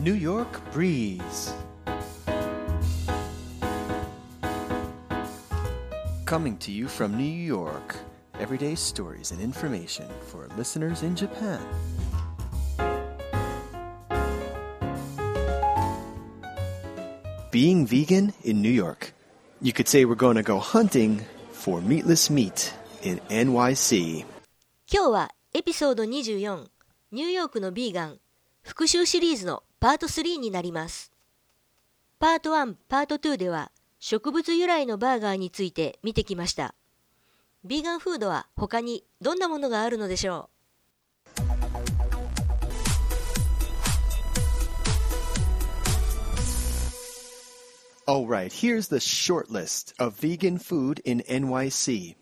New York Breeze. Coming to you from New York, everyday stories and information for listeners in Japan. Being vegan in New York. You could say we're going to go hunting for meatless meat in NYC. 今日はエピソード24、ニューヨークのビーガン復習シリーズのパート3になります。パート1、パート2では植物由来のバーガーについて見てきました。ビーガンフードは他にどんなものがあるのでしょう？Alright, here's the short list of vegan food in NYC.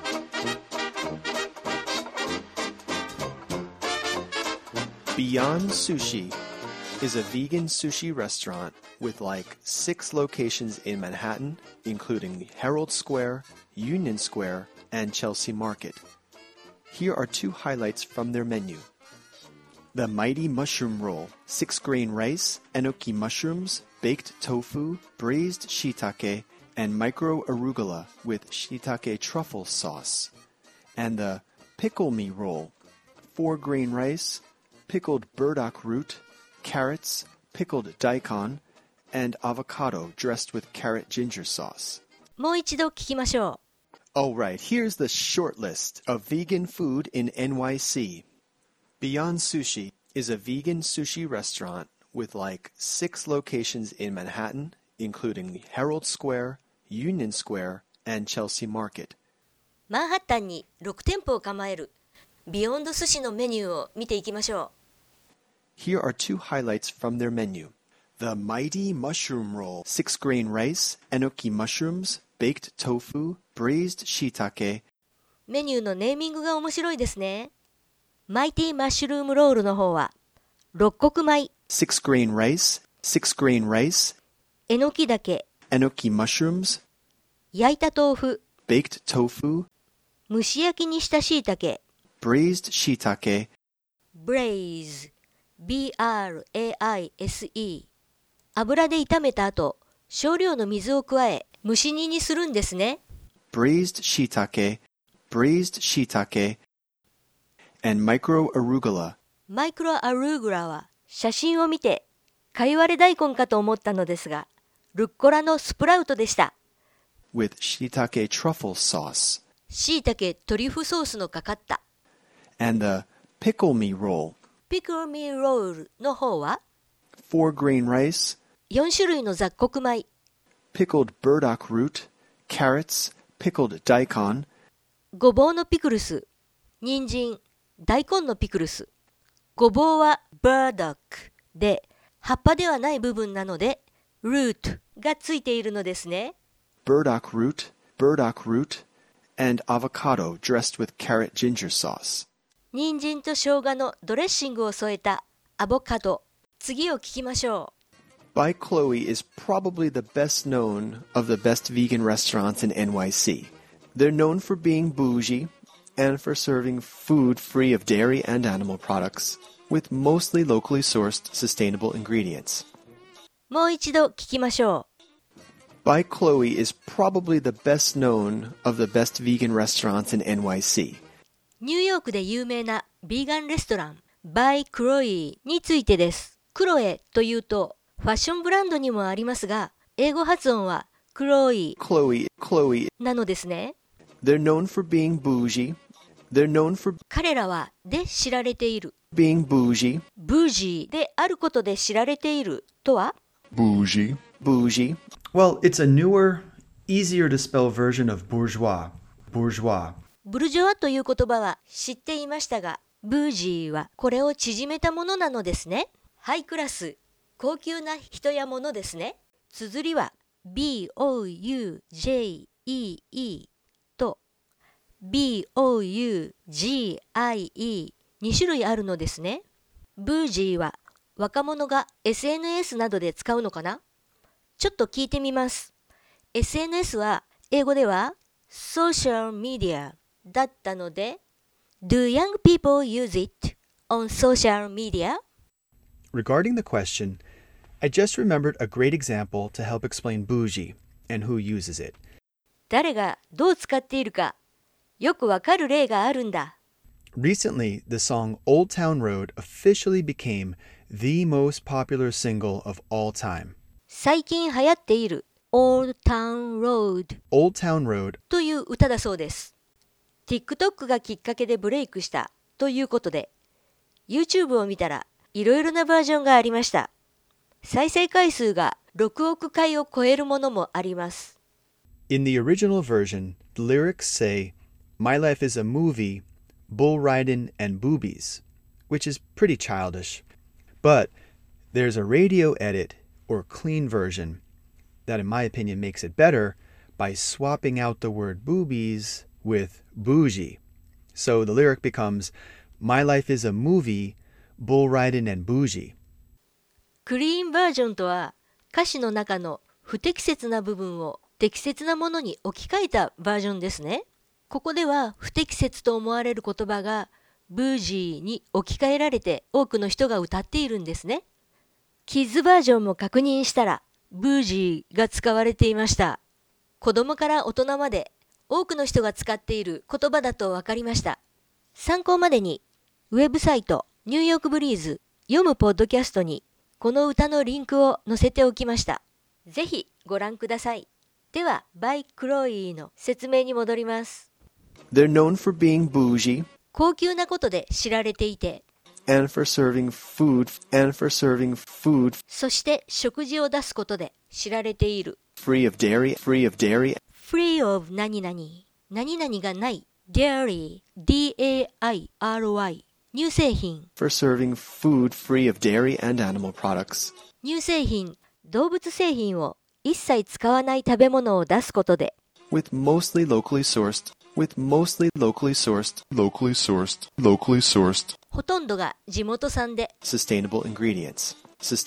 Beyond Sushi is a vegan sushi restaurant with like 6 locations in Manhattan, including Herald Square, Union Square, and Chelsea Market. Here are 2 highlights from their menu. The Mighty Mushroom Roll, 6-grain rice, enoki mushrooms, baked tofu, braised shiitake, and micro arugula with shiitake truffle sauce. And the Pickle Me Roll, 4-grain rice, pickled burdock root, carrots, pickled daikon, and avocado dressed with carrot ginger sauce. もう一度聞きましょう。Alright, here's the short list of vegan food in NYC. Beyond Sushi is a vegan sushi restaurant with like 6 locations in Manhattan, including Herald Square, Union Square, and Chelsea Market. マンハッタンに6店舗を構えるビヨンド寿司のメニューを見ていきましょう。 Here are 2 highlights from their menu. The Mighty Mushroom Roll, 6-grain rice, enoki mushrooms, baked tofu, braised shiitake. メニューのネーミングが面白いですね。マイティマッシュルームロールの方は六穀米 6-grain rice, えのきだけ enoki mushrooms, 焼いた豆腐 baked tofu, 蒸し焼きにしたしいたけ braised shiitake, braise B-R-A-I-S-E 油で炒めた後少量の水を加え蒸し煮にするんですね。 braised shiitake, and micro arugula. マイクロアルーグラは写真を見てかいわれ大根かと思ったのですがルッコラのスプラウトでした。 with shiitake truffle sauce. しいたけトリュフソースのかかった。 And the Pickle Me Roll. Pickle Me Roll の方は 4-grain rice, 4種類の雑穀米 pickled burdock root, carrots, pickled daikon, ごぼうのピクルス、人参、大根のピクルス。ごぼうは burdock で葉っぱではない部分なので root がついているのですね。 burdock root, and avocado dressed with carrot ginger sauce. 人参と生姜のドレッシングを添えたアボカド。次を聞きましょう。By Chloe is probably the best known of the best vegan restaurants in NYC. They're known for being bougie and for serving food free of dairy and animal products with mostly locally sourced sustainable ingredients. もう一度聞きましょう。By Chloe is probably the best known of the best vegan restaurants in NYC. ニューヨークで有名なビーガンレストラン By Chloe についてです。クロエというとファッションブランドにもありますが、英語発音はクロイなのですね。 They're known for being bougie. 彼らはで知られている。 Being bougie. ブージーであることで知られているとは Bougie. Well, it's a newer, easier to spell version of bourgeois. ブルジョワという言葉は知っていましたが、ブージーはこれを縮めたものなのですね。ハイクラス、高級な人やものですね。綴りは B-O-U-J-E-E と B-O-U-G-I-E 2種類あるのですね。ブージーは若者が SNS などで使うのかな？ちょっと聞いてみます。SNS は英語では Social Media だったので Do young people use it on social media? Regarding the question, I just remembered a great example to help explain bougie and who uses it. 誰がどう使っているかよくわかる例があるんだ。 Recently, the song Old Town Road officially became the most popular single of all time. 最近流行っている Old Town Road Old Town Road という歌だそうです。TikTok がきっかけでブレイクしたということで、YouTube を見たらいろいろなバージョンがありました。再生回数が6億回を超えるものもあります。 In the original version, the lyrics say, My life is a movie, bull riding and boobies, which is pretty childish. But there's a radio edit or clean version that, in my opinion, makes it better by swapping out the word boobies with bougie. So the lyric becomes, My life is a movie, bull riding and bougie. クリーンバージョンとは歌詞の中の不適切な部分を適切なものに置き換えたバージョンですね。ここでは不適切と思われる言葉がブージーに置き換えられて多くの人が歌っているんですね。キッズバージョンも確認したらブージーが使われていました。子供から大人まで多くの人が使っている言葉だと分かりました。参考までにウェブサイトニューヨークブリーズ読むポッドキャストにこの歌のリンクを載せておきました。ぜひご覧ください。では、バイ・クロイの説明に戻ります。 They're known for being bougie 高級なことで知られていて、 and for serving food そして食事を出すことで知られている。 free of dairy free of 何々、何々がない。dairy, D-A-I-R-Y 乳製品 for serving food free of dairy and animal products 乳製品、動物製品を一切使わない食べ物を出すことで with mostly locally sourced ほとんどが地元産で sustainable ingredients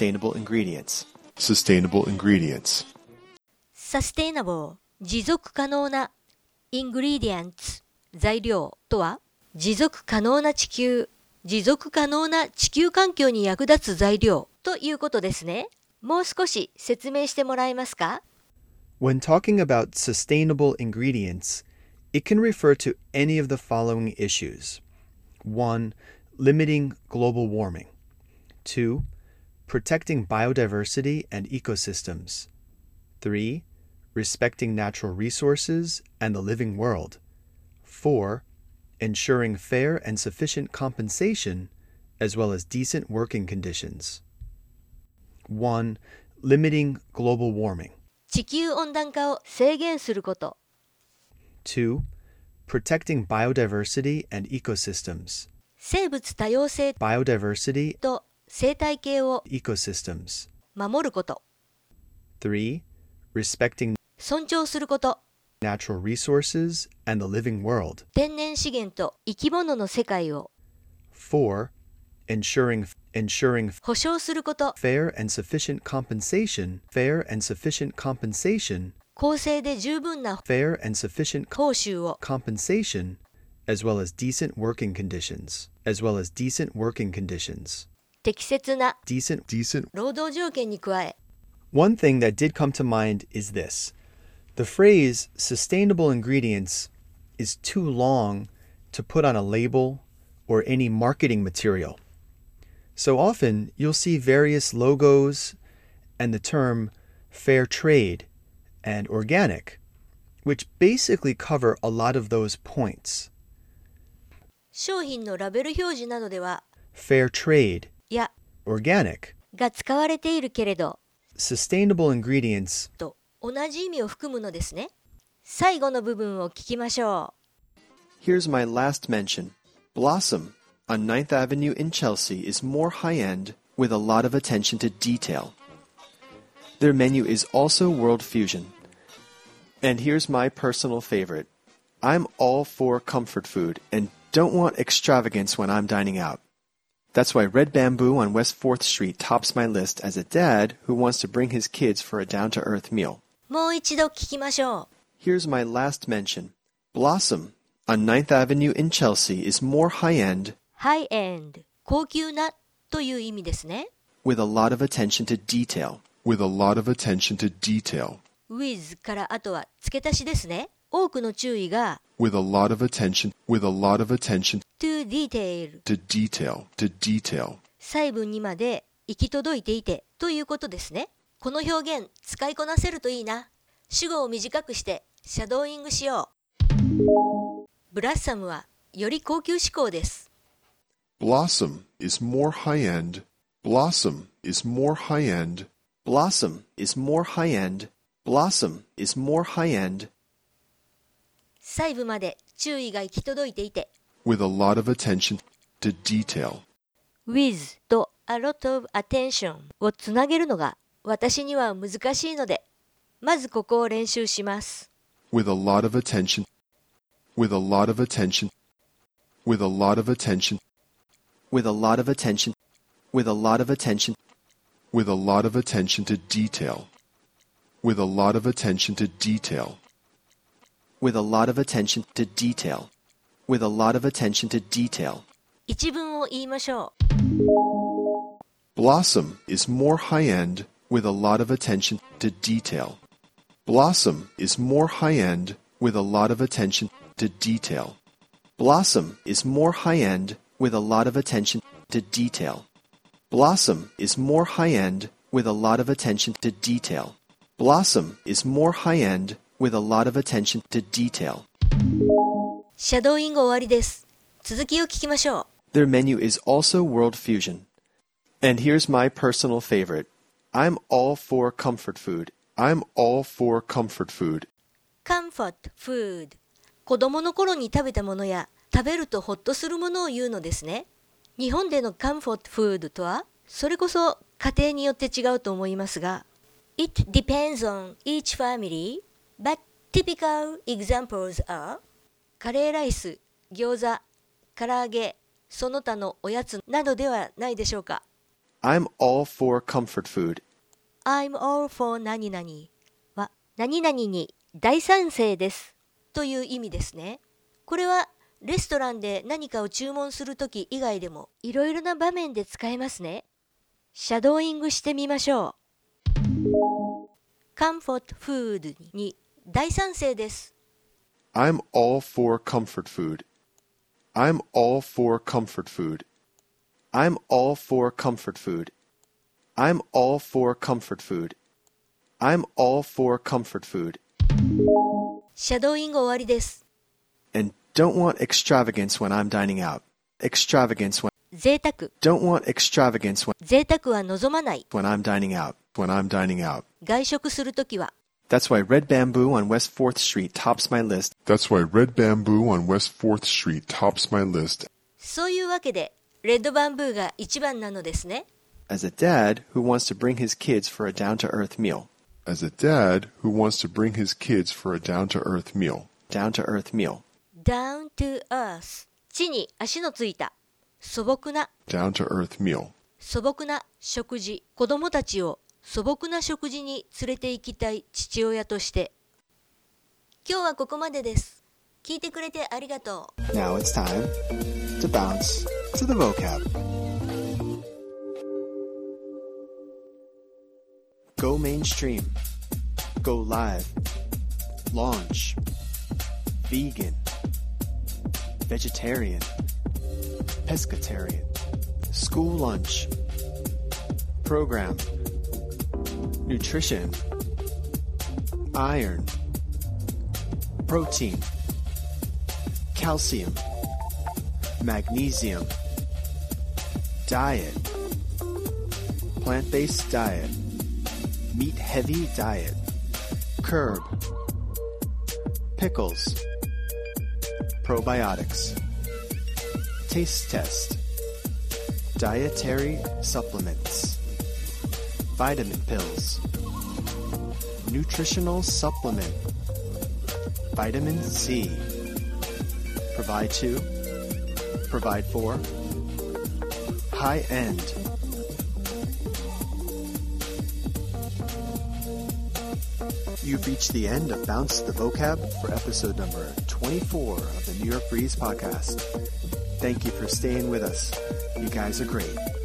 sustainable 持続可能な ingredients 材料とは持続可能な地球環境に役立つ材料ということですね。もう少し説明してもらえますか？ When talking about sustainable ingredients, it can refer to any of the following issues. 1. Limiting global warming. 2. Protecting biodiversity and ecosystems. 3. Respecting natural resources and the living world. 4. Ensuring fair and sufficient compensation, as well as decent working conditions. 1. Limiting global warming. 地球温暖化を制限すること。 2. Protecting biodiversity and ecosystems. 生物多様性 Biodiversity と生態系を ecosystems. 守ること。 3. Respecting 尊重すること。 natural resources and the living world. 天然資源と生き物の世界を 4. Ensuring 保障すること。 fair and sufficient compensation, 公正で十分な fair and sufficient 報酬を compensation, as well as decent working conditions, 適切な decent. 労働条件に加え One thing that did come to mind is this. The phrase sustainable ingredients is too long to put on a label or any marketing material. So often you'll see various logos and the term fair trade and organic, which basically cover a lot of those points. 商品のラベル表示などでは Fair trade, や organic, が使われているけれど sustainable ingredients, と同じ意味を含むのですね。最後の部分を聞きましょう。 Here's my last mention. Blossom on 9th Avenue in Chelsea is more high-end with a lot of attention to detail. Their menu is also world fusion. And here's my personal favorite. I'm all for comfort food and don't want extravagance when I'm dining out. That's why Red Bamboo on West 4th Street tops my list as a dad who wants to bring his kids for a down-to-earth meal. もう一度聞きましょう。 Here's my last mention. Blossom on 9th Avenue in Chelsea is more high-end ハイエンド、高級なという意味ですね。 with a lot of attention to detail. With a lot of attention to detail. with からあとは付け足しですね。多くの注意が With a lot of attention. With a lot of attention to detail to detail. To detail. 細部にまで行き届いていてということですね。この表現使いこなせるといいな。主語を短くしてシャドーイングしよう。ブラッサムはより高級志向です。 Blossom is more high-end. Blossom is more high-end. Blossom is more high-end. Blossom is more high-end. 細部まで注意が行き届いていて With a lot of attention to detail. with と a lot of attention をつなげるのが私には難しいので、まずここを練習します。 With a lot of attention. With a lot of attention. With a lot of attention. With a lot of attention. With a lot of attention. With a lot of attention to detail. With a lot of attention to detail. With a lot of attention to detail. With a lot of attention to detail. 一文を言いましょう。 Blossom is more high-end with a lot of attention to detail. Blossom is more high-end with a lot of attention to detail. Blossom is more high-end with a lot of attention to detail. Blossom is more high-end with a lot of attention to detail. Blossom is more high-end with a lot of attention to detail. シャドーイング終わりです。続きを聞きましょう。 Their menu is also world fusion. And here's my personal favorite. I'm all for comfort food. I'm all for comfort food. comfort food 子供の頃に食べたものや食べるとホッとするものを言うのですね。日本での comfort food とはそれこそ家庭によって違うと思いますが It depends on each family, but typical examples are カレーライス、餃子、唐揚げ、その他のおやつなどではないでしょうか。 I'm all for comfort food. I'm all for 何々は何々に大賛成ですという意味ですね。これはレストランで何かを注文するとき以外でもいろいろな場面で使えますね。シャドーイングしてみましょう。comfort food に大賛成です。 I'm all for comfort food. I'm all for comfort food. I'm all for comfort food. I'm all for comfort food. I'm all for comfort food. シャドーイング終わりです。 And don't want extravagance when I'm dining out. Extravagance when 贅沢 don't want extravagance when 贅沢は望まない when I'm dining out. When I'm dining out. 外食するときは That's why Red Bamboo on West 4th Street tops my list. That's why Red Bamboo on West 4th Street tops my list. そういうわけでレッドバンブーが一番なのですね。 As a dad who wants to bring his kids for a down-to-earth meal. As a dad who wants to bring his kids for a down-to-earth meal. Down-to-earth meal. down to earth 地に足のついた素朴な Down-to-earth meal. 素朴な食事子供たちを素朴な食事に連れて行きたい父親として今日はここまでです。聞いてくれてありがとう。 Now it's time to bounce to the vocab. Go mainstream. Go live. Launch. Vegan. Vegetarian. Pescatarian. School lunch. Program. Nutrition. Iron. Protein. Calcium. Magnesium. Diet. Plant-based diet. Meat-heavy diet. Curb. Pickles. Probiotics. Taste test. Dietary supplements. Vitamin pills. Nutritional supplement. Vitamin C. Provide to. Provide for. High end. You've reached the end of Bounce the Vocab for episode number 24 of the New York Breeze podcast. Thank you for staying with us. You guys are great.